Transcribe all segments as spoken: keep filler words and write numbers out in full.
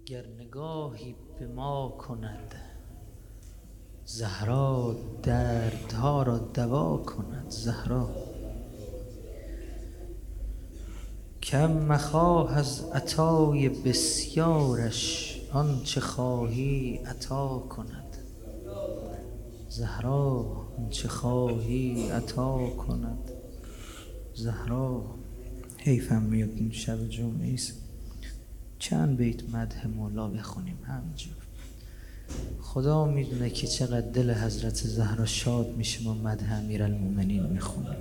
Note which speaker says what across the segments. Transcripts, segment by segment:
Speaker 1: گر نگاهی به ما کند، زهرا دردها را دوا کند. زهرا کم مخواه از عطای بسیارش، آنچه خواهی عطا کند. زهرا آنچه خواهی عطا کند. زهرا حیفم میاد این شب جمعه ایست چند بیت مدح مولا بخونیم همینجور. خدا میدونه که چقدر دل حضرت زهرا شاد میشه ما مدح امیرالمومنین میخونیم.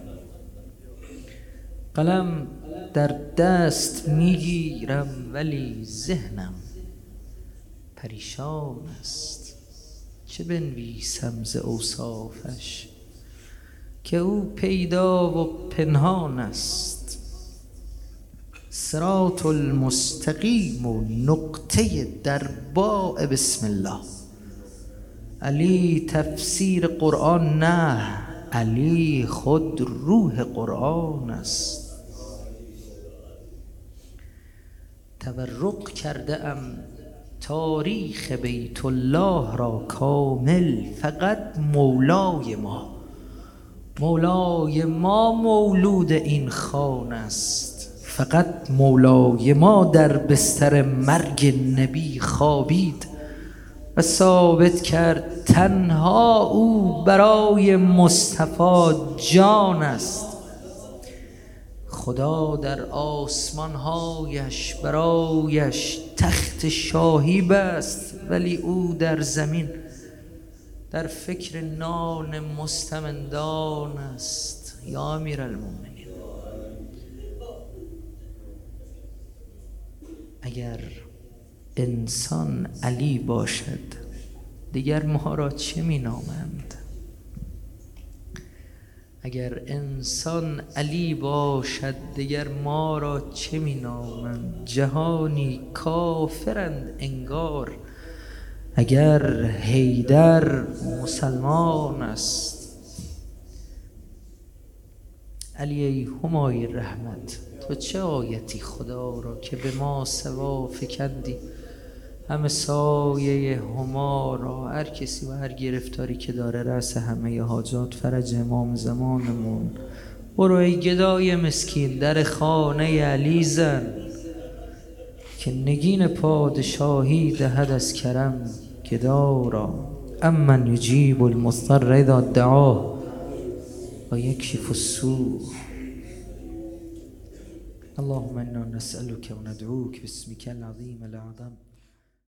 Speaker 1: قلم در دست میگیرم ولی ذهنم پریشان است، چه بنویسم ز اوصافش که او پیدا و پنهان است. صراط المستقیم و نقطه در باء بسم الله. علی تفسیر قرآن نه، علی خود روح قرآن است. تورق کرده ام تاریخ بیت الله را کامل، فقط مولای ما مولای ما مولود این خانه است. فقط مولای ما در بستر مرگ نبی خوابید و ثابت کرد تنها او برای مصطفی جان است. خدا در آسمانهایش برایش تخت شاهی بست، ولی او در زمین در فکر نان مستمندان است. یا امیرالمومنین، اگر انسان علی باشد دیگر ما را چه می نامند؟ اگر انسان علی باشد دیگر ما را چه می نامند؟ جهانی کافرند انگار اگر حیدر مسلمان است. علی ای همای رحمت، تو چه آیتی خدا را که به ما سوا فکندی همه سایه هما را. هر کسی و هر گرفتاری که داره رأس همه حاجات فرج امام زمانمون. برو ای گدای مسکین در خانه علی زن، که نگین پادشاهی دهد از کرم گدا را. امن یجیب المضطر اذا دعاه و یکشف السوء. اللهم انا نسألك و ندعوك باسمك العظیم الاعظم